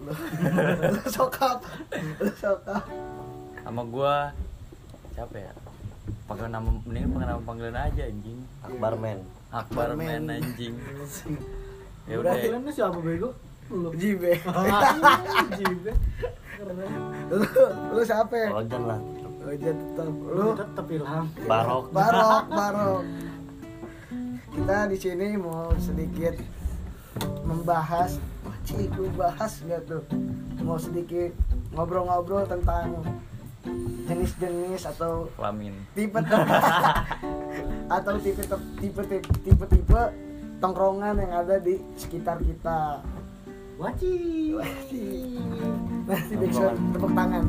Lu sokap. Sama gua siapa ya? Pakai nama panggilan aja anjing. Akbarman anjing. Ya udah. Panggilannya siapa bego? Lu. Jibe. Jibe. Lu siapa? Ojan lah. Ojan tetap. Lu tetep Ilham. Barok. Kita di sini mau sedikit membahas, gue bahas nggak tuh? Mau sedikit ngobrol-ngobrol tentang jenis-jenis atau Kelamin. tipe atau tipe tongkrongan yang ada di sekitar kita. Wajib. Nanti backsound tepuk tangan.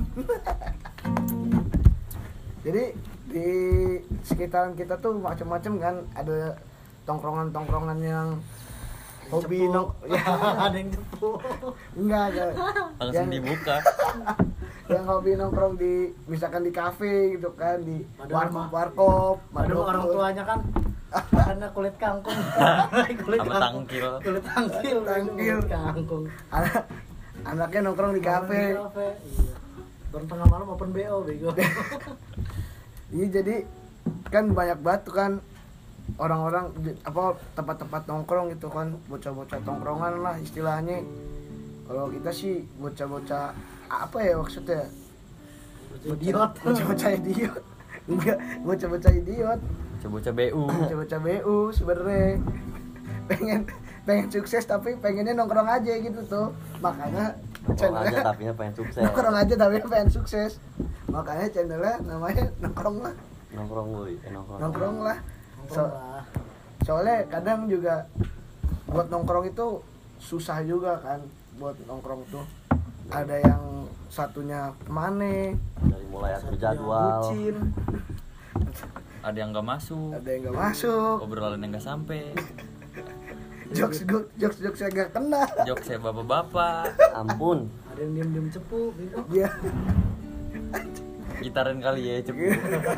Jadi di sekitaran kita tuh macam-macam kan, ada tongkrongan yang hobi ada yang cepu. enggak Langsung dibuka. yang hobi nongkrong di misalkan di kafe gitu kan, di Padahal warkop. Padahal orang tuanya kan karena kulit kangkung. Sama tangkil. Kulit tangkil. Kangkung. Anaknya nongkrong di kafe. Iya. Baru tengah malam open BO bego. Iya, jadi kan banyak banget tuh kan orang-orang apa tempat-tempat nongkrong gitu kan, bocah-bocah tongkrongan lah istilahnya. Kalau kita sih bocah-bocah apa ya maksudnya? Bocah-bocah idiot. Enggak, bocah-bocah idiot. Bocah BU. Bocah-bocah BU sebenarnya. Pengen sukses tapi pengennya nongkrong aja gitu tuh. Makanya Nongkrong aja tapi pengen sukses. Nongkrong aja tapi pengen sukses. Makanya channelnya namanya nongkrong lah. Nongkrong lah. Soalnya kadang juga buat nongkrong itu susah juga kan, buat nongkrong tuh. Ada yang satunya kemana? Dari mulai atur jadwal. Bucin. Ada yang nggak masuk. Obrolan yang nggak sampai. jokes yang gak kena. Jokes saya bapak-bapak. Ampun. Ada yang diem cepu gitu. Iya. Gitarin kali ya cepu.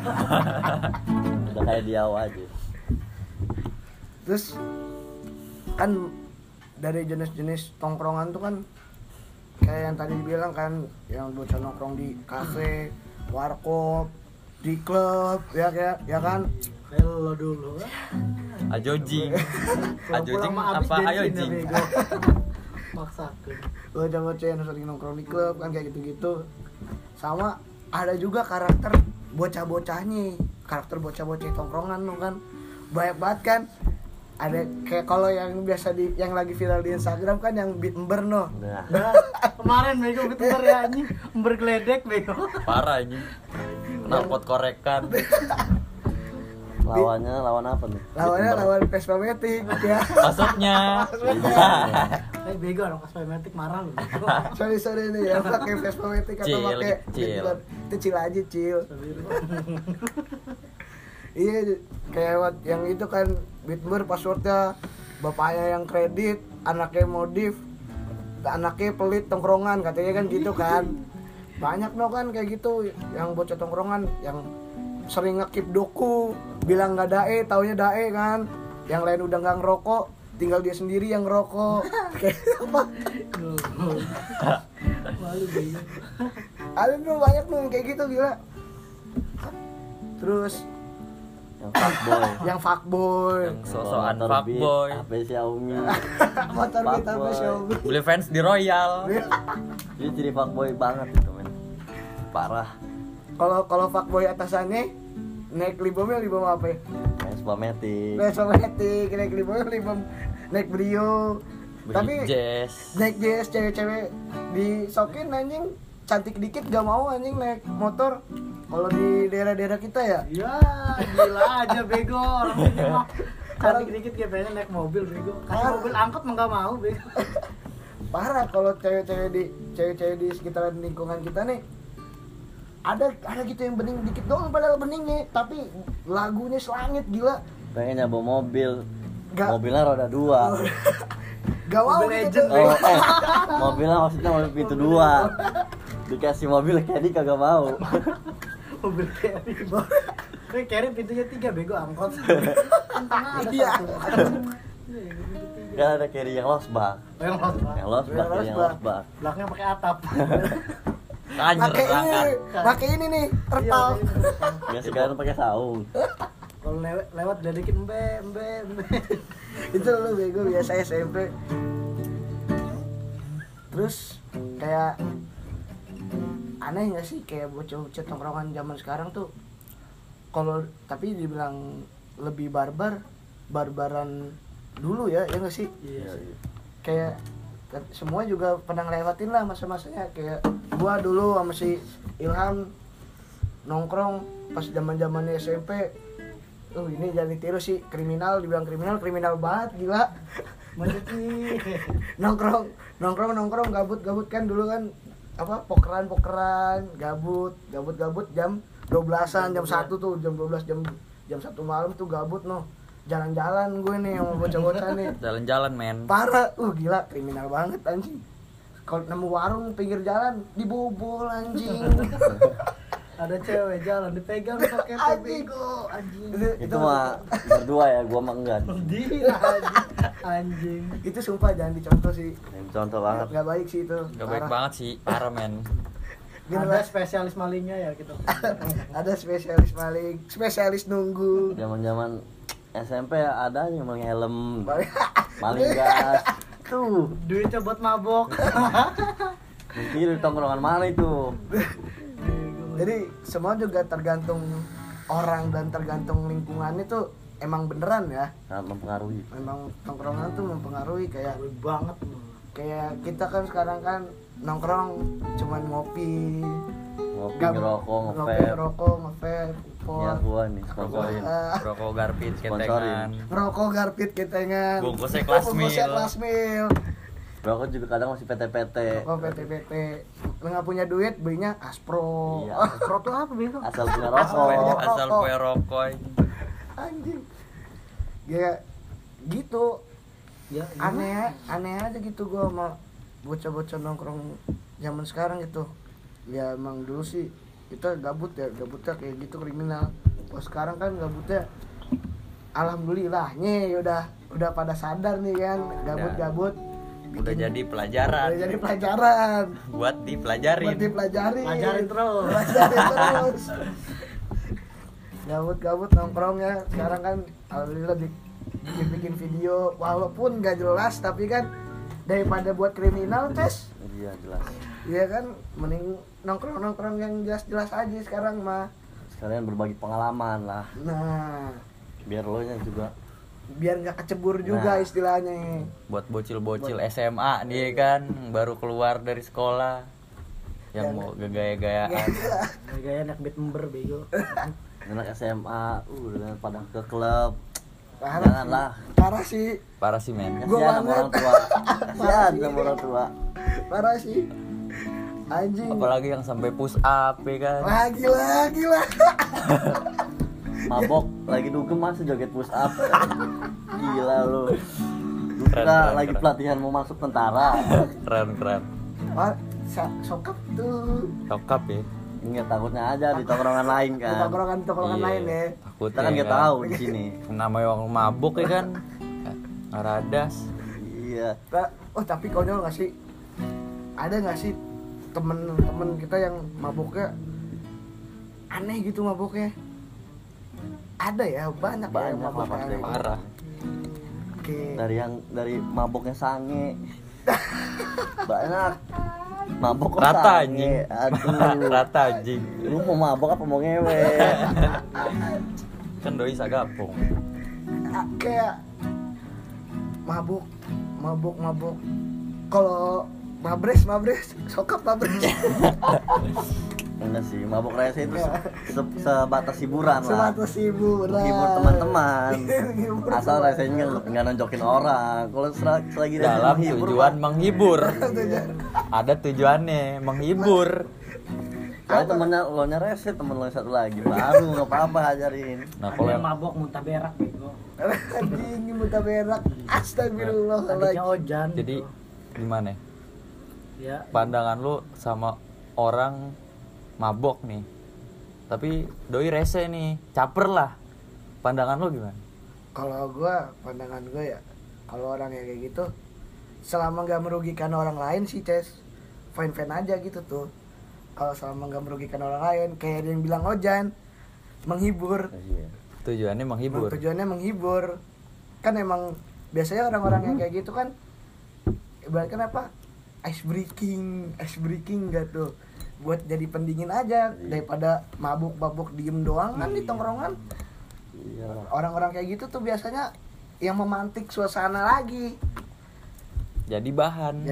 Udah kayak dia aja. Terus kan dari jenis-jenis tongkrongan tuh kan kayak yang tadi dibilang kan, yang bocah nongkrong di kafe, warkop, di klub, ya kan? Lo dulu kan. Ajojing apa ajojing? Maksakan. Bocah-bocah yang sering nongkrong di klub kan kayak gitu-gitu. Sama ada juga karakter bocah-bocahnya, karakter bocah-bocah tongkrongan tuh kan banyak banget kan. Ada kayak kalau yang biasa yang lagi viral di Instagram kan yang beat ember no. Nah, Kemarin bego beat ember ya anjing, ember geledek bego. Parah anjing. Knalpot korekan. lawan apa nih? Lawan Vespa Matic ya. Maksudnya. Bego orang kosmetik marah lu. Sorry nih ya, pakai Vespa Matic atau pakai itu cil aja cil. Iya, kayak yang itu kan Bitmer passwordnya bapaknya yang kredit, anaknya modif, anaknya pelit tongkrongan katanya kan gitu kan. Banyak no kan kayak gitu yang bocah tongkrongan yang sering ngekip doku, bilang nggak dae, taunya dae kan. Yang lain udah nggak ngerokok, tinggal dia sendiri yang ngerokok. Kayak apa? Malu bego. Ada tuh banyak tuh kayak gitu gila. Terus yang fuckboy, Yang sosokan fuckboy. HP Xiaomi. motor beat apa Xiaomi. Beli fans di Royal. Dia jadi fuckboy banget gitu men. Parah. Kalau fuckboy atasannya naik libom apa ya? Vespa Matic. Naik libom naik Brio. Tapi Jazz. naik jazz cewek-cewek disokin anjing cantik dikit gak mau anjing naik motor. Kalau di daerah-daerah kita ya. Ya, gila aja bego orang ini mah. Cantik dikit kayak pengen naik mobil bego. Kasih mobil angkot mah enggak mau bego. Parah kalau cewek-cewek di sekitaran lingkungan kita nih. Ada gitu yang bening dikit doang padahal beningnya, tapi lagunya selangit gila. Pengennya bawa mobil. Gak. Mobilnya roda 2. Gak mau Mobil gitu. legend, Tuh. Mobilnya maksudnya mobil pintu 2. Dikasih mobil Caddy kagak mau. Mobil carry. Carry pintunya 3 bego angkot. Tengah ada Iya. satu. Iya, pintu 3. Kan ada carry yang losbak. Yang lost Pak. Yang losbak, Yang yang losbak. losbak. Belakangnya pakai atap. Anjir Pakai ini, berangkat. pakai ini nih, terpal. Biasa sekarang pakai saung. Kalau lewat dedekin embe. Itu lu bego biasa SMP. Terus kayak aneh nggak sih kayak bocah-bocah tongkrongan zaman sekarang tuh, kalau tapi dibilang lebih barbaran dulu ya nggak sih? Iya. Kayak semua juga pernah ngelewatin lah masa-masanya. Kayak gua dulu sama si Ilham nongkrong pas zaman-zamannya SMP. Ini jangan ditiru sih, kriminal, dibilang kriminal banget, gila. Mencuci. nongkrong gabut kan dulu kan apa pokeran gabut jam 12-an, jam 1 tuh, jam 12 jam 1 malam tuh gabut jalan-jalan gue nih sama bocah-bocah nih. Jalan-jalan men. Parah, gila kriminal banget anjing. Kalau nemu warung pinggir jalan dibobol anjing. Ada cewek jalan dipegang pakai Anjing. bego anjing. Itu mah berdua ya, gua mah enggak. Gila anjing. Itu sumpah jangan dicontoh sih. Contoh banget. Gak baik sih itu. Gak baik Parah. banget sih, parah men. Ada spesialis malingnya ya gitu. Ada spesialis maling, spesialis nunggu. Zaman-zaman SMP ada yang maling helm, maling gas. Tuh, Duitnya buat mabok. mungkin di tongkrongan mana itu? Jadi semua juga tergantung orang dan tergantung lingkungan itu emang beneran ya. Sangat mempengaruhi. Memang tongkrongan tuh mempengaruhi kayak Baik banget. kita kan sekarang kan nongkrong cuman ngopi, Ngopi, ngerokok, ngopi, ngevape. ngerokok, ngevape, Ya gua nih Rokok, sponsorin. rokok garpit, Sponsorin. ketengan. ngerokok garpit ketengan, Bungkusnya kelas bungkusnya mil. kelas mil, Rokok juga kadang masih PT-PT. rokok PT, lu nggak punya duit belinya Aspro. Iya. Aspro tuh apa bego? Asal punya Asal rokok. punya Asal rokok. punya rokok. Anjing, ya gitu. Ya, Aneh aja gitu gua sama bocah-bocah nongkrong zaman sekarang gitu. Ya emang dulu sih kita gabutnya kayak gitu kriminal. Kalau sekarang kan gabutnya alhamdulillahnya udah pada sadar nih kan, gabut Udah jadi pelajaran. udah jadi pelajaran Buat dipelajarin. buat dipelajari. Pelajarin terus. Pelajarin terus. Gabut nongkrong ya sekarang kan alhamdulillah bikin video walaupun gak jelas tapi kan daripada buat kriminal tes. Iya jelas. Iya kan, mending nongkrong yang jelas aja sekarang mah. Sekalian berbagi pengalaman lah. Nah, Biar lo nya juga. biar nggak kecebur juga Nah. istilahnya. Buat bocil-bocil SMA nih kan baru keluar dari sekolah yang Dan- mau gaya-gayaan. Gaya anak beat member bego. Anak SMA, udah pada ke klub. Parah Janganlah. sih. Parah sih, Parah sih men. Gua Kasihan sama banget. orang tua. Kasihan sama orang tua. parah sih. Anjing. Apalagi yang sampai push up ya kan. Gila. Mabok lagi dugem masih joget push up. Gila lu. Lu Keren, kira keren, lagi keren. pelatihan mau masuk tentara. Keren. Wah, sokap tuh. Cokap ya. Ingat takutnya aja di tongkrongan lain Di kan. tongkrongan Iya. lain ya. Takut Kita kan nggak tahu di sini. Namanya orang mabuk ya kan. Ngaradas. Iya. Tapi konyol nggak sih? Ada nggak sih temen kita yang mabuknya aneh gitu mabuknya? Ada ya, banyak ya yang Banyak lah mabuknya pasti. aneh. Parah. Oke. Dari maboknya sange. Banyak. Mabok kok Rata sange. anjing. Aduh. Rata anjing. Lu mau mabok apa mau ngewe? Kan doi sagapung. Kayak mabuk. Kalau mabres, sokap mabres. Enggak sih, mabok rese itu sebatas hiburan lah. Sebatas hiburan. Hibur teman-teman. Hibur Asal teman. resenya nggak nonjokin orang. Kalau selagi rese Dalam menghibur, tujuan Pak. menghibur. Ada tujuannya menghibur. Kalau temennya lo nya rese, temen lo yang satu lagi baru nggak apa-apa ajarin. Nah Ada kalau yang yang mabok muntah berak bego. Anjing muntah berak. Adiknya Astagfirullahaladzim. Ojan. jadi gimana? ya Pandangan lu sama orang mabok nih. Tapi doi rese nih, caper lah. Pandangan lu gimana? Kalau pandangan gue ya Kalau orang yang kayak gitu selama nggak merugikan orang lain sih Ces, fine aja gitu tuh. Kalau selama nggak merugikan orang lain, kayak yang bilang Ojan, menghibur. Iya. Tujuannya menghibur. Tujuannya menghibur. Kan emang biasanya orang-orang yang kayak gitu kan ibaratkan apa? Ice breaking gak tuh. Buat jadi pendingin aja daripada mabuk-mabuk diem doang kan di tongkrongan. Iya. Orang-orang kayak gitu tuh biasanya yang memantik suasana lagi. Jadi bahan.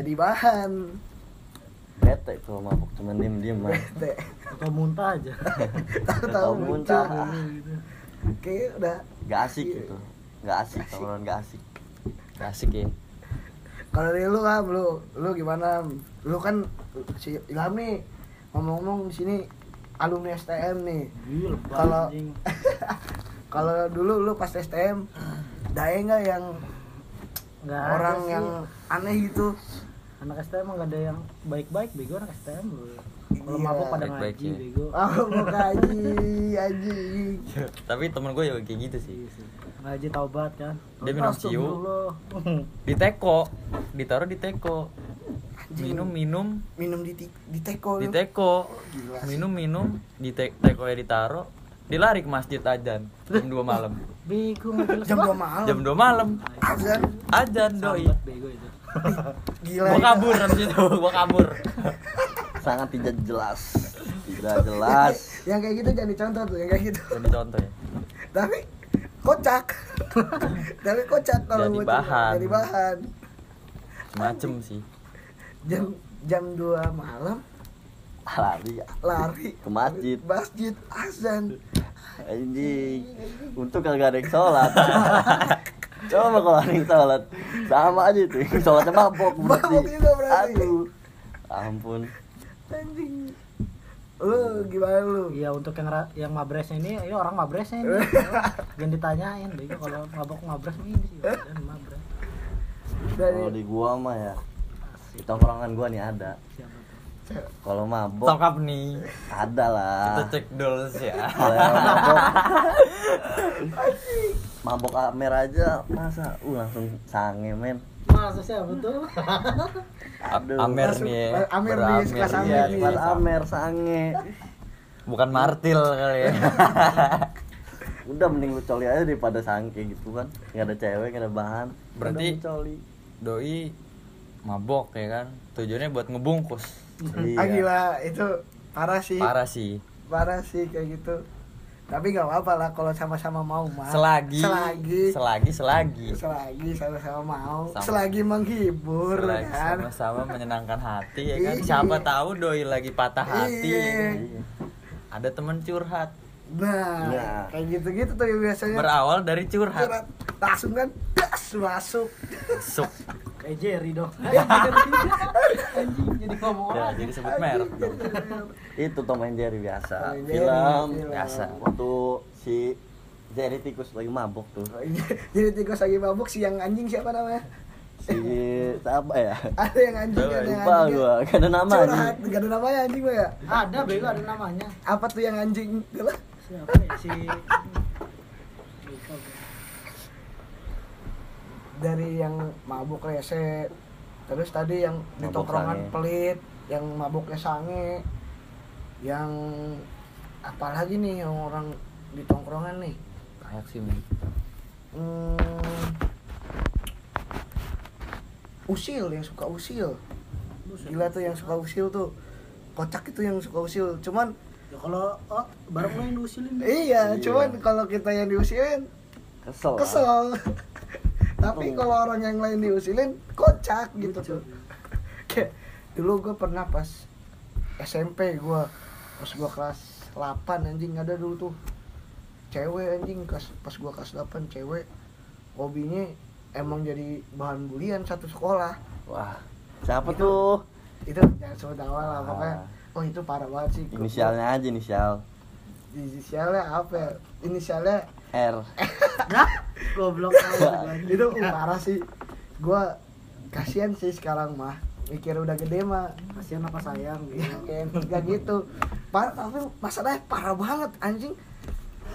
Bete kalau mabuk cuma diem mah. Bete. Atau muntah aja. Tahu-tahu muntah. Gitu. Kayak udah Gak asik gitu. Gak asik, tongkrongan gak asik. Asik ya. kalau dari lu kan lu gimana? Lu kan si Ilham nih ngomong-ngomong di sini alumni STM nih. Gila, Kalau anjing. kalau dulu lu pas STM dae nggak yang Nggak ada orang sih. yang aneh gitu? Anak STM emang gak ada yang baik-baik, bego anak STM lu. Kalau Iya, mabuk pada baik-baik ngaji, ya. bego. Mau kaji anjing. Tapi temen gue juga kayak gitu sih. Ngaji taubat kan. Dia minum ciu. Astagfirullah. Di teko, ditaruh di teko. Anjing. Minum di teko. Di lu. teko. Gila sih. Minum di teko ya ditaruh. Dilari ke masjid ajan jam 2 malam. Bego nggak jelas Jam 2 banget. malam. Jam 2 malam. Azan. Ajan doi. Sambat bego itu. Gila. Gua ya. kabur habis itu, gua kabur. Sangat tidak jelas. Tidak jelas. Yang kayak gitu jangan dicontoh tuh, yang kayak gitu. Jadi contoh ya. Tapi kocak. Tapi kocak kalau Jadi buat bahan. Jadi bahan. Macem sih. Jam 2 malam lari Ke masjid. Masjid azan. Anjing. Untung kagak ada yang sholat. Coba kalau ada yang sholat sama aja tuh. Sholatnya mabok berarti. Mabok juga berarti. Aduh. Ampun. Anjing. Lu gimana lu? Iya, untuk yang mabresnya ini, ya orang mabresnya ini. Jangan ditanyain, bego kalau mabok mabres ini sih. Dan mabres. Kalau di gua mah ya di tongkrongan gua nih ada. Siapa tuh? Kalau mabok Sokap nih. ada lah. Kita cek dulu sih ya. Kalau yang mabok Amer aja masa langsung sange men. Masa siapa tuh? Aduh. Amer Langsung- nih ya. Amer nih, Beramer sekelas nih. Amer Iya, nih. pas Amer sange. Bukan martil kali ya. Udah mending lu coli aja daripada sangke gitu kan. Enggak ada cewek, enggak ada bahan. Berarti Udah coli. Doi mabok ya kan. Tujuannya buat ngebungkus. Ah gila, itu parah sih. Parah sih. Kayak gitu. Tapi nggak apa-apa lah kalau sama-sama mau mah. Selagi Selagi sama-sama mau. Selagi menghibur Selagi kan. sama-sama menyenangkan hati ya kan. Iya. Siapa tahu doi lagi patah hati. Iya. Ya kan? Ada temen curhat. Nah, Nah. kayak gitu-gitu tuh biasanya. Berawal dari curhat. Langsung kan das masuk. Masuk. Kayak Jerry dong. Anjing jadi ngomong Ya, aja. jadi sebut merek dong. Itu Tom and Jerry biasa. Tom and Jerry, Film film. biasa. Waktu si Jerry tikus lagi mabok tuh. Jadi tikus lagi mabuk, si yang anjing siapa namanya? Si siapa ya? Ada yang anjing, Tahu, ada yang Lupa anjing. gua, gak ada nama Curhat, nih. gak ada namanya anjing gua ya? Ada bego, ada namanya. Apa tuh yang anjing? Gila. Siapa ya si Lupa gua. Dari yang mabuk rese, terus tadi yang di Mabuk tongkrongan sange. pelit, yang mabuknya sange, yang apalagi nih yang orang di tongkrongan nih. Kayak sih men. Usil, yang suka usil. Gila tuh yang suka usil tuh. Kocak itu yang suka usil. Cuman Ya kalau bareng lo yang diusilin. iya, Iya. cuman kalau kita yang diusilin Kesel. kesel. Tapi kalau orang yang lain diusilin kocak gitu tuh. Kayak dulu gue pernah pas SMP gue, pas gue kelas 8 anjing ada dulu tuh cewek anjing pas gue kelas 8 cewek hobinya emang jadi bahan bulian satu sekolah. Wah, siapa Itu- tuh? Itu jangan sebut nama lah pokoknya. Oh itu parah banget sih. Inisialnya aja, inisial. Inisialnya apa ya? Inisialnya R. Nah, goblok aja. itu parah sih. Gua kasihan sih sekarang mah. Mikir udah gede mah. Kasihan apa sayang gitu. Kayak enggak gitu. Parah, tapi masalahnya parah banget anjing.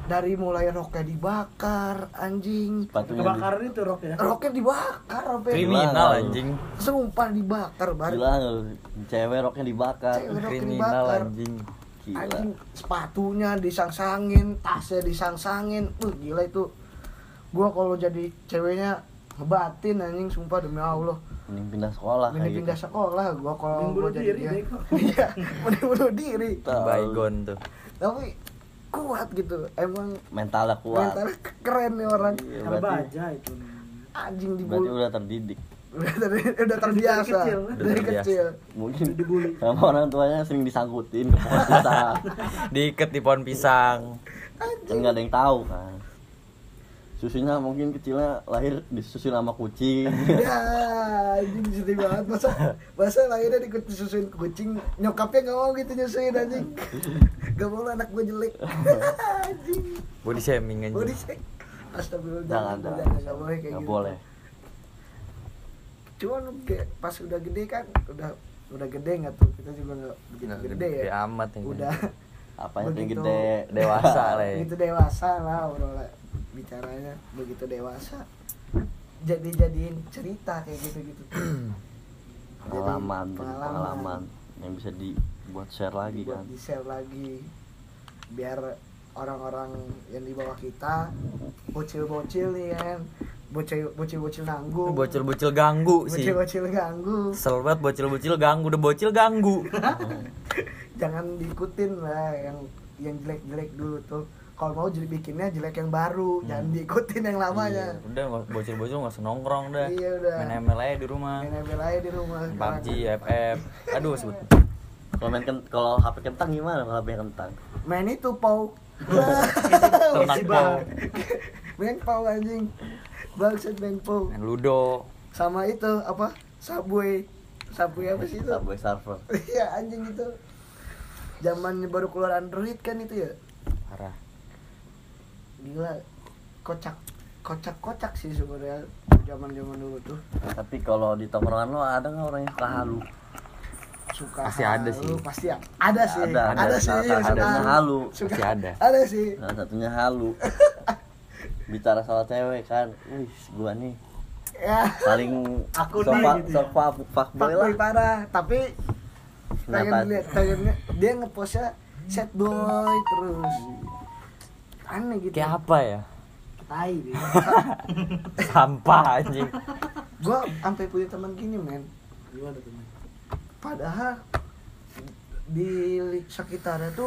dari mulai roknya dibakar anjing, Sepatunya Kebakaran itu rok ya. roknya dibakar sampai Kriminal anjing. sumpah dibakar banget. gila, cewek roknya dibakar. Cewek roknya Kriminal dibakar. anjing. Gila. Anjing, sepatunya disangsangin, tasnya disangsangin. Gila itu. Gua kalau jadi ceweknya ngebatin anjing, sumpah demi Allah. Mending pindah sekolah Mending kayak pindah gitu. sekolah gua kalau Mending gua bunuh jadi diri, dia. bego. Iya, mending bunuh diri. Tahu. Baygon tuh. Tapi kuat gitu. Emang Mentalnya kuat. mentalnya keren nih orang. Iya, Karena berarti baja itu. Anjing berarti dibully. udah terdidik. Udah terbiasa Dari kecil. dari Udah terbiasa. kecil. Mungkin Dibully. sama orang tuanya sering disangkutin ke pohon pisang. Diikat di pohon pisang. Kan nggak ada yang tahu kan. Susunya mungkin kecilnya lahir disusuin sama kucing. Ya, anjing sedih banget. Masa lahirnya disusuin kucing, nyokapnya nggak mau gitu nyusuin anjing. Gak mau anak gue jelek. Anjing. Body shaming anjing. Body shake. Astagfirullah. Jangan, Nggak boleh kayak nggak gitu. boleh. Cuman kayak pas udah gede kan, udah gede nggak tuh, kita juga nggak begitu Nggak gede gede ya. amat ya. Udah Apanya yang begitu gede. Dewasa lah ya. begitu dewasa lah orang bicaranya, begitu dewasa jadiin cerita kayak gitu Pengalaman yang bisa dibuat share lagi kan. di share lagi biar orang-orang yang di bawah kita, bocil-bocil nih kan, bocil-bocil nanggung, Bocil-bocil ganggu sih. bocil-bocil ganggu, Kesel banget bocil-bocil ganggu, udah bocil ganggu. jangan diikutin lah yang jelek-jelek dulu tuh. Kalau mau jadi bikinnya jelek yang baru, jangan diikutin yang lamanya. Iya, udah bocil-bocil nggak usah nongkrong dah. Iya, udah. Main ML aja di rumah. Main ML aja di rumah. PUBG, FF. Aduh sebut. Kalau HP kentang gimana kalau HP kentang? Main itu pau. Ternak pau. Main pau anjing. Bangsat main pau. Main Ludo. Sama itu apa? Subway. Subway apa sih itu? Subway Surfer. Iya anjing itu. Zamannya baru keluar Android kan itu ya. Parah. Gila. Kocak sih sebenarnya zaman dulu tuh. Tapi kalau di tongkrongan lo ada nggak orang yang suka halu? Suka Pasti ada halu, sih. pasti ada sih. Ada. sih. Salah yang suka satunya halu. Suka. Pasti ada. Ada sih. Salah satunya halu. Bicara soal cewek kan, wih gua nih Ya. paling Aku sofa nih, gitu ya. sofa fuckboy lah. Fuckboy parah, tapi Kenapa? pengen dia ngepostnya sad boy terus. Aneh gitu. Kayak apa ya? Tai dia. Sampah anjing. Gua sampai punya teman gini, men. Gimana tuh, men? Padahal di sekitarnya tuh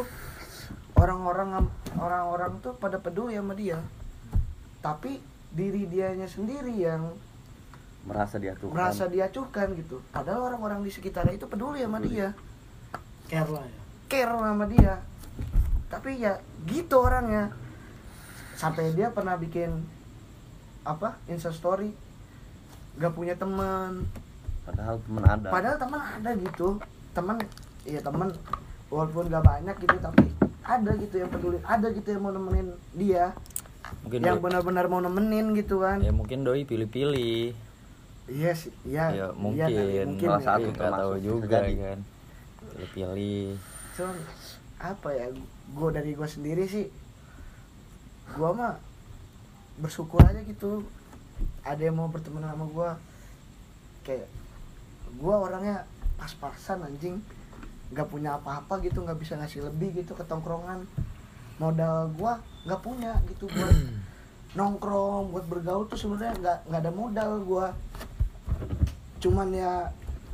orang-orang tuh pada peduli sama dia. Tapi diri dianya sendiri yang Merasa diacuhkan. merasa diacuhkan gitu. Padahal orang-orang di sekitarnya itu peduli sama dia, Care lah ya. care sama dia. Tapi ya gitu orangnya. Sampai dia pernah bikin apa? Insta story. Gak punya teman. Padahal temen ada. Padahal teman ada gitu. Teman walaupun gak banyak gitu tapi ada gitu yang peduli, ada gitu yang mau nemenin dia. Mungkin Yang doi- benar-benar mau nemenin gitu kan. ya mungkin doi pilih-pilih. Iya sih, iya. Ya Iya, mungkin. mungkin Salah ya. satu Tapi nggak tahu termasuk juga terjadi. kan. Pilih-pilih. Cuman apa ya, dari gue sendiri sih, gue mah bersyukur aja gitu ada yang mau berteman sama gue. Kayak gue orangnya pas-pasan anjing, nggak punya apa-apa gitu, nggak bisa ngasih lebih gitu ke tongkrongan. Modal gue nggak punya gitu buat nongkrong, buat bergaul tuh sebenarnya nggak ada modal gue. Cuman ya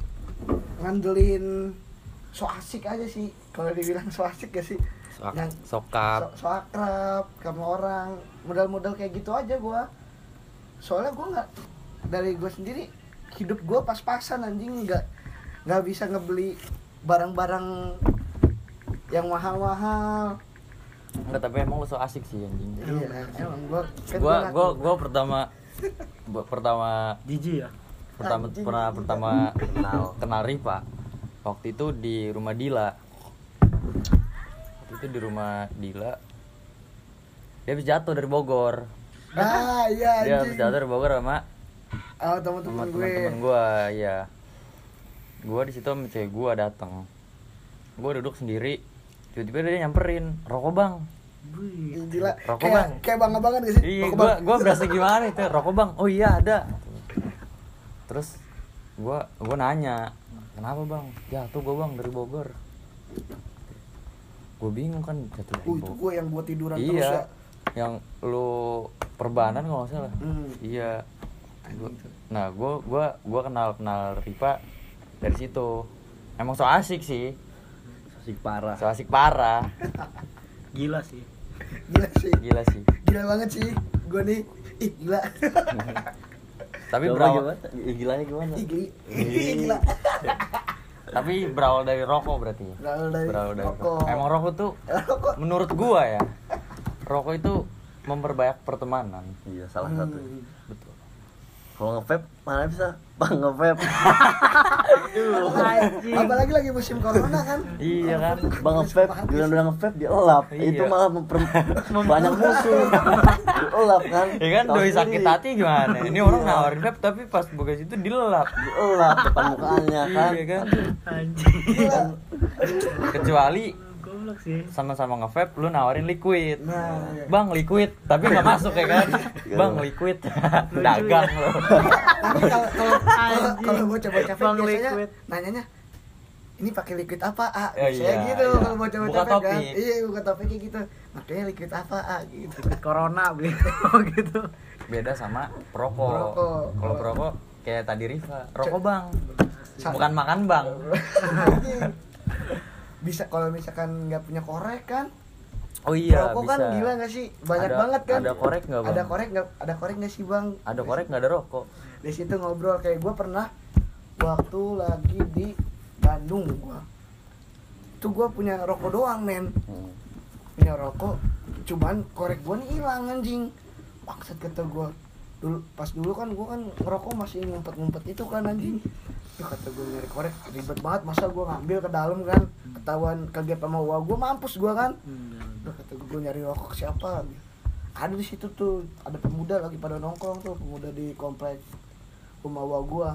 ngandelin so asik aja sih, kalau dibilang so asik gak sih, Yang- Sokap. so akrab sama orang, modal-modal kayak gitu aja gua. Soalnya gua dari gua sendiri hidup gua pas-pasan anjing, nggak bisa ngebeli barang-barang yang mahal-mahal. Enggak, tapi emang lu so asik sih anjing. Iya, emang gua kan Gua pertama Jijik ya. Anjing. pertama kenal Rifa. Waktu itu di rumah Dila. Dia habis jatuh dari Bogor. iya Dia habis anjing. jatuh dari Bogor sama Teman-teman gue. teman-teman gua, ya. Gua di situ sama cewek gua datang. Gua duduk sendiri. Tiba-tiba dia nyamperin, "Rokok, Bang." Wih. Gila. Rokok, Bang. Kayak bangga banget gak sih? Iya, Rokok, Bang. gua berasa gimana itu, rokok bang, oh iya ada. Terus gua nanya, kenapa bang? Ya tuh gua bang dari Bogor. Gua bingung kan, jatuh dari Itu Bogor. gue yang buat tiduran terus Iya, ya. yang lu perbanan kalau nggak salah. Iya. Nah, gua kenal Rifa dari situ. Emang so asik sih, Asik parah. so asik parah. Gila sih. Gila sih. Gila sih. Gila banget sih. Gue nih, ih gila. Tapi Coba berawal, gimana? Gilanya gimana? Ih gila. tapi berawal dari rokok berarti. Berawal dari rokok. Emang rokok tuh Rokok. menurut gua ya, rokok itu memperbanyak pertemanan. Iya, salah satu. Betul. Kalau nge-vape mana bisa? Bang nge-vape. Apalagi lagi musim corona kan. Iya kan. Bang nge-vape, udah nge-vape dia elap. Iya. Itu malah banyak musuh. Elap kan. Ya kan Tahu doi sendiri. sakit hati gimana? Ini orang nawarin vape tapi pas buka situ dilelap. Elap depan mukanya kan. Iya kan. Anjing. Gila. Kecuali Goblok sih. sama-sama nge-vape lu nawarin liquid. Nah, iya. Bang liquid, tapi nggak masuk ya kan? Bang liquid, dagang lo. Tapi kalau bocah-bocah vape Bang biasanya liquid. nanyanya ini pakai liquid apa A? Oh, Saya iya, gitu iya. kalau bocah-bocah Buka vape kan. topik. Iya, buka topik kayak gitu. Makanya liquid apa A gitu. Corona gitu. Beda sama perokok. Perokok. Kalau perokok kayak tadi Rifa, rokok bang, Sa- bukan makan bang. Bisa kalau misalkan nggak punya korek kan. Oh iya, Rokok bisa. kan gila nggak sih? Banyak Ada- banget kan. ada korek nggak, Bang? Ada korek nggak sih bang? Ada korek nggak ada rokok? Di situ ngobrol kayak gue pernah waktu lagi di Bandung gue. Itu gue punya rokok doang men. Punya rokok, cuman korek gue nih hilang anjing. Bangsat kata gue. Dulu kan gue kan ngerokok masih ngumpet-ngumpet itu kan anjing. Tuh kata gue nyari korek ribet banget, masa gue ngambil ke dalam kan, ketahuan kaget sama gue mampus gue kan. Tuh kata gue nyari rokok ke siapa? Ada di situ tuh, ada pemuda lagi pada nongkrong tuh, pemuda di komplek rumah gue.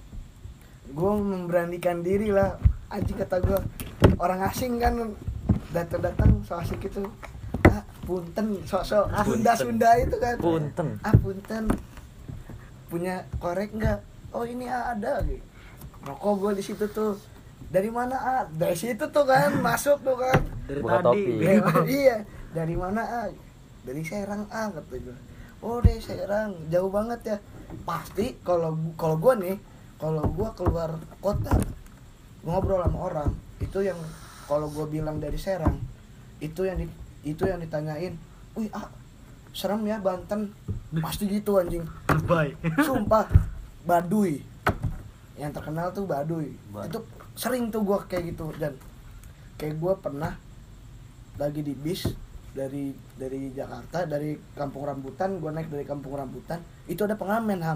Gue memberanikan diri lah, anjing kata gue, orang asing kan datang so asik itu. Ah, punten, sok-sok Sunda itu kan. Punten. Ah, punten. Punya korek enggak? Oh, ini ada gitu. Rokok gue di situ tuh. Dari mana ah? Dari situ tuh kan, masuk tuh kan. Dari Buka tadi. topi. Iya, dari mana ah? Dari Serang ah kata gue. Oh, dari Serang, jauh banget ya. Pasti kalau gue nih, kalau gue keluar kota ngobrol sama orang, itu yang kalau gue bilang dari Serang, itu yang ditanyain, "Wih, ah, serem ya Banten." Pasti gitu anjing. Bye. Sumpah, Baduy. Yang terkenal tuh Baduy. Itu sering tuh gue kayak gitu, dan kayak gue pernah lagi di bis dari Jakarta, dari Kampung Rambutan, gue naik dari Kampung Rambutan, itu ada pengamen Ham.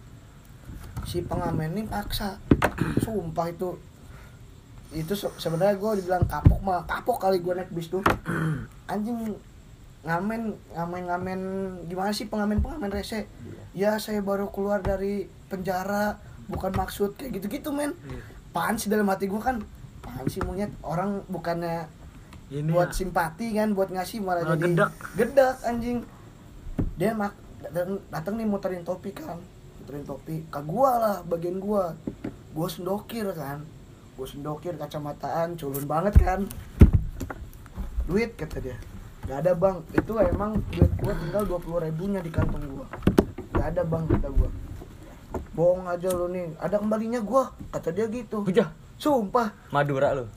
Si pengamen ini paksa, sumpah itu sebenarnya gue dibilang kapok kali gue naik bis tuh. Anjing ngamen gimana sih pengamen rese? Ya saya baru keluar dari penjara, bukan maksud kayak gitu men. Apaan sih dalam hati gue kan, apaan sih monyet, orang bukannya Ini buat ya. simpati kan, buat ngasih malah Malah jadi gedek. anjing. Dia datang nih muterin topi ke gua lah, bagian gua sendokir kacamataan culun banget kan. Duit kata dia gak ada bang, itu emang duit gua tinggal 20.000-nya di kantong gua, gak ada bang kata gua. Bohong aja lu nih, ada kembalinya gua kata dia gitu. Hujah, Sumpah. Madura lu.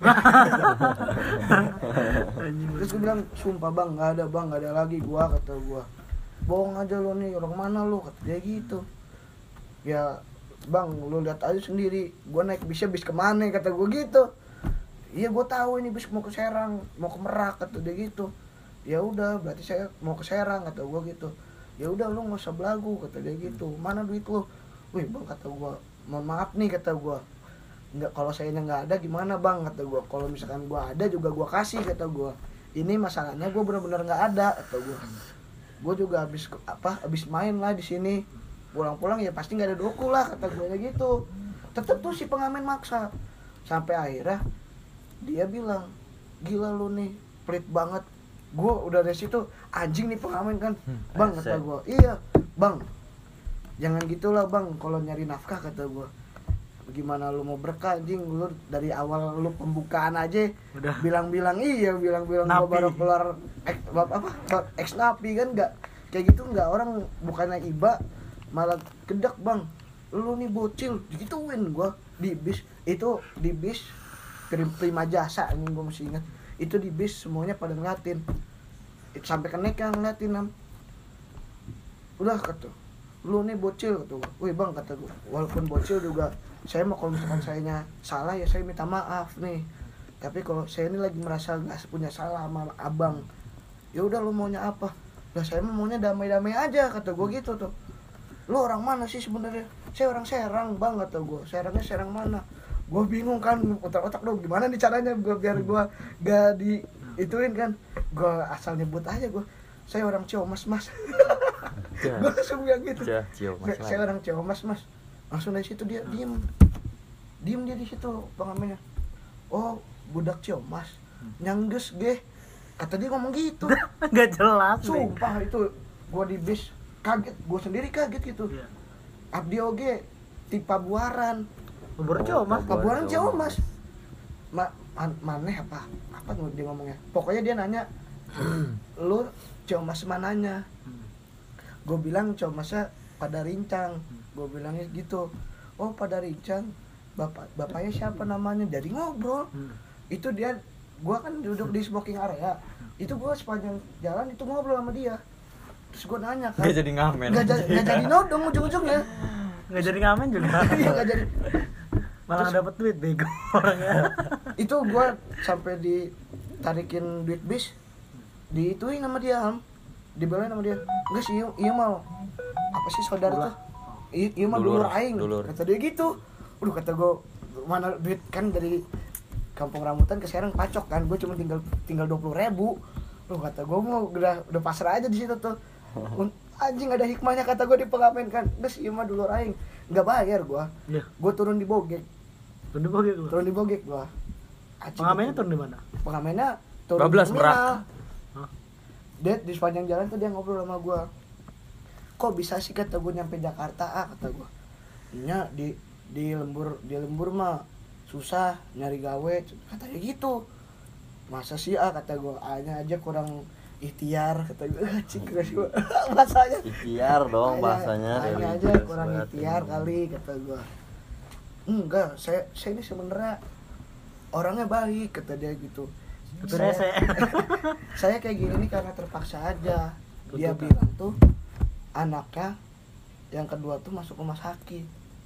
Terus gue bilang, sumpah bang, gak ada lagi gua kata gua. Bohong aja lu nih, orang mana lu kata dia gitu. Ya bang, lu lihat aja sendiri, gua naik bis kemana kata gua gitu. Iya gua tahu ini bis mau ke Serang, mau ke Merak kata dia gitu. Ya udah, berarti saya mau ke Serang kata gua gitu. Ya udah lu nggak usah belagu kata dia gitu. Mana duit lu? Wih bang kata gua, mohon maaf nih kata gua. Enggak, kalau saya nggak ada gimana bang kata gua. Kalau misalkan gua ada juga gua kasih kata gua. Ini masalahnya gua benar-benar nggak ada kata gua. Gua juga habis main lah di sini. Pulang-pulang ya pasti nggak ada doku lah kata gua gitu. Tetep tuh si pengamen maksa. Sampai akhirnya dia bilang, gila lu nih, pelit banget. Gue udah dari situ anjing nih pengamen kan. Bang kata gue, iya bang, jangan gitulah bang kalau nyari nafkah kata gue. Gimana lu mau berkah anjing, lu dari awal lu pembukaan aja Udah. bilang-bilang gue Napi. baru keluar ex napi kan, nggak kayak gitu, nggak, orang bukannya iba malah gedak bang, lu nih bocil digituin gue di bis itu, di bis prima jasa ini gue masih ingat itu, di bis semuanya pada ngeliatin sampai kenek yang ngeliatin udah kata lu nih bocil kata gue, wih bang kata gue, walaupun bocil juga saya mau, kalau misalkan sayanya salah ya saya minta maaf nih, tapi kalau saya ini lagi merasa nggak punya salah sama abang, ya udah lu maunya apa, lah saya maunya damai-damai aja kata gue gitu tuh. Lu orang mana sih sebenarnya? Saya orang Serang bang kata gue. Serangnya Serang mana? Gue bingung kan, otak-otak dong gimana nih caranya gue biar gue gak di ituin kan. Gue asal nyebut aja gue, saya orang Ciamas mas. Gue langsung bilang gitu. Saya orang Ciamas mas. Langsung dari situ dia diem dia di situ pengamennya. Oh budak Ciamas, nyangges ge. Kata dia ngomong gitu. Gak jelas. Sumpah itu gue di bis kaget, gue sendiri kaget gitu. Iya. Abdi oge di Pabuaran. Pabuaran Ciamas. Pabuaran Ciamas. Maneh apa dia ngomongnya. Pokoknya dia nanya, lu Ciamas mananya? Gue bilang Ciamasnya pada Rincang. Gue bilangnya gitu. Oh pada Rincang. Bapaknya siapa namanya? Jadi ngobrol. Itu dia, gue kan duduk di smoking area. Itu gue sepanjang jalan itu ngobrol sama dia. Terus gue nanya kan, Gak jadi ngamen. Gak jadi nodong ujung-ujungnya. Gak jadi ngamen juga. Iya gak jadi. Malah Terus- dapet duit bego orangnya. Itu gue sampai ditarikin duit bis, diituin sama dia, dibelain sama dia. Enggak sih, iya mau apa sih saudara tuh? Iya mah dulur aing. Dulur. Kata dia gitu. Udah kata gue, mana duit kan dari Kampung Rambutan ke Serang pacok kan, gue cuma tinggal 20.000. Loh kata gue mau udah pasrah aja di situ tuh. Anjing ada hikmahnya kata gue di pengamen kan. Geus ieu mah dulur aing. Enggak bayar gue. Iya. Gue turun di Bogek. Turun di Bogek lu. Turun di Bogek gue. Pengamennya turun di mana? Pengamennya turun Bablas, di terminal. Merak. Hah? Dia di sepanjang jalan tuh dia ngobrol sama gue. Kok bisa sih kata gue nyampe Jakarta kata gue. Nya di lembur mah susah nyari gawe katanya gitu. Masa sih kata gue, A-nya aja kurang ikhtiar kata gue. Cik gue bahasanya. Ikhtiar dong bahasanya. A-nya aja religius kurang banget. ikhtiar kali kata gue. Enggak, saya ini sebenarnya orangnya baik kata dia gitu. Tapi rese. Saya kayak gini nih karena terpaksa aja. Dia Betul, bilang tuh anaknya yang kedua tuh masuk rumah sakit.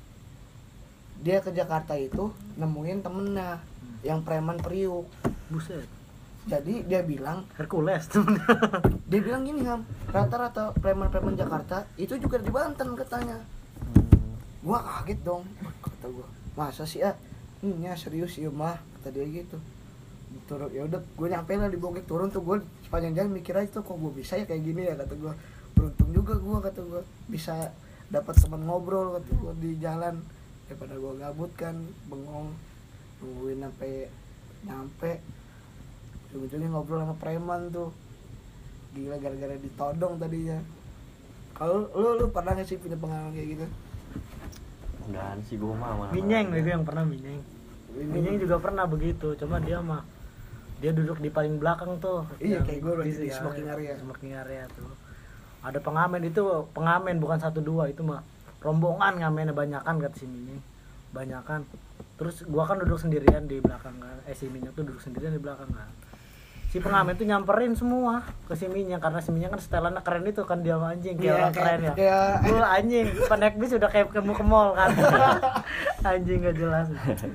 Dia ke Jakarta itu nemuin temennya yang preman Priuk. Buset. Jadi dia bilang Hercules. dia bilang gini Ham, rata-rata preman-preman Jakarta itu juga di Banten katanya. Gua kaget dong, kata gua. Masa sih nya serius ya mah, kata dia gitu. Turun ya udah gue nyampe lah di Bogek, turun tuh gue sepanjang jalan mikir aja tuh kok gue bisa ya kayak gini ya kata gue. Beruntung juga gue kata gue bisa dapat teman ngobrol kata gue di jalan daripada gue gabut kan bengong nungguin sampai nyampe ujung-ujungnya ngobrol sama preman tuh gila gara-gara ditodong tadinya. Kalau lu pernah nggak sih punya pengalaman kayak gitu? Enggak sih gue mah. Minyeng itu yang pernah Minyeng. Minyeng juga pernah begitu, cuma dia duduk di paling belakang tuh. Iya, yang kayak gue berarti di ya, smoking area. Smoking area tuh. Ada pengamen itu, pengamen bukan 1-2 itu mah rombongan ngamennya banyakan kata si Minyeng. Banyakan. Terus gua kan duduk sendirian di belakang kan. Si Minyeng tuh duduk sendirian di belakang kan. Si pengamen tuh nyamperin semua ke si Minyeng karena si Minyeng kan setelannya keren itu kan dia sama anjing kayak orang keren ya. Lu anjing, naik bis udah kayak ke mall kan. Anjing gak jelas.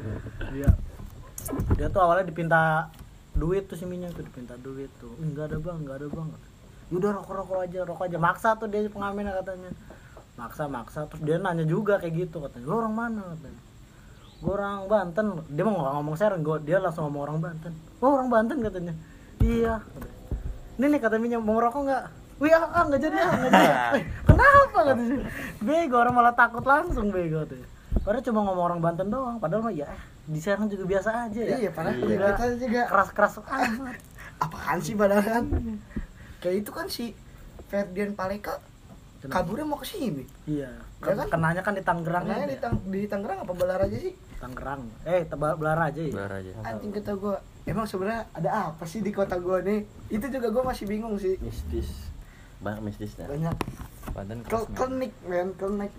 Dia tuh awalnya dipinta duit tuh si Minyeng tuh dipinta duit tuh. Enggak ada bang. Yaudah rokok aja. Maksa tuh dia pengamennya katanya. Maksa terus dia nanya juga kayak gitu katanya. Lu orang mana katanya? Gue orang Banten. Dia mau nggak ngomong Serang, dia langsung ngomong orang Banten. Oh orang Banten katanya. Iya. Ini nih kata Minyeng mau ngerokok nggak? Wih nggak jadi. Kenapa katanya? Bego orang malah takut langsung bego tuh. Padahal cuma ngomong orang Banten doang. Padahal mah ya di Serang juga biasa aja ya. Iya, padahal Enggak kita juga keras amat. apaan sih padahal kan kayak itu kan si Ferdian Paleka kaburnya mau ke sini. Iya. Ya kan? Kenanya kan di Tangerang. Karena di Tangerang apa Balaraja sih? Tangerang. Belaraja ya. Belaraja. Anjing kata gue, emang sebenarnya ada apa sih di kota gue nih? Itu juga gue masih bingung sih. Mistis. Banyak mistisnya. Banyak Banten klinik men.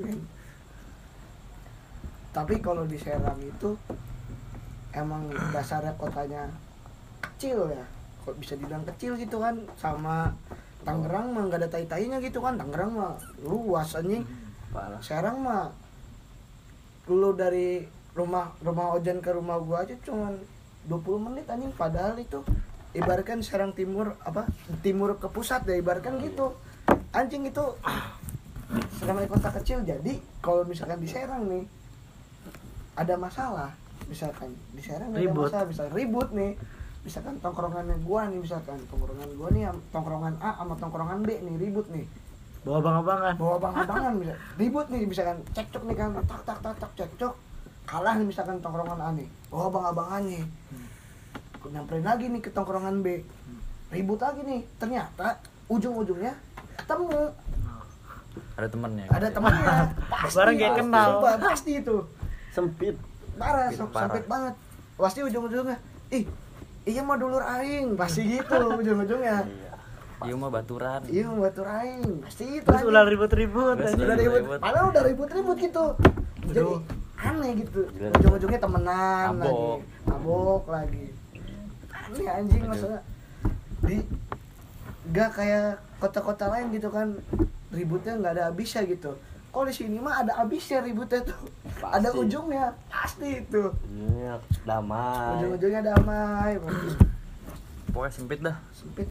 Tapi kalau di Serang itu emang dasarnya kotanya kecil ya. Kok bisa dibilang kecil gitu kan, sama Tangerang mah nggak ada tai-tainya gitu kan. Tangerang mah luas anjing. Parah. Serang mah lu dari rumah Ojan ke rumah gua aja cuman 20 menit anjing, padahal itu ibaratkan Serang timur ke pusat ya, ibaratkan gitu. Anjing itu namanya kota kecil. Jadi kalau misalkan di Serang nih ada masalah, misalkan di Serang ada masalah, misalkan ribut nih, misalkan tongkrongannya gua nih, misalkan tongkrongan gua nih tongkrongan A sama tongkrongan B nih ribut nih, Bawa abang-abangan bisa ribut nih, misalkan cekcok nih kan, tak cekcok, kalah nih misalkan tongkrongan A nih, bawa abang-abangannya nyamperin lagi nih ke tongkrongan B, ribut lagi nih, ternyata ujung-ujungnya ketemu, ada temennya pasti, barang kayak kenal, pasti itu Sempit. parah, sempit banget, pasti ujung-ujungnya iya mah dulur aing, pasti gitu ujung-ujungnya. Iya mah baturan. Iya mau batur aing, pasti itu. Terus udah ribut-ribut. Udah ribut. Padahal udah ribut-ribut gitu. Jadi aneh gitu. Ujung-ujungnya temenan lagi. Mabok lagi. Aneh anjing masalah. Gak kayak kota-kota lain gitu kan. Ributnya nggak ada habisnya gitu. Kalau di sini mah ada habisnya ributnya tuh. Pasti. Ada ujungnya. Pasti itu. Iya, damai. Ujung-ujungnya damai. Pokoknya sempit dah. Sempit.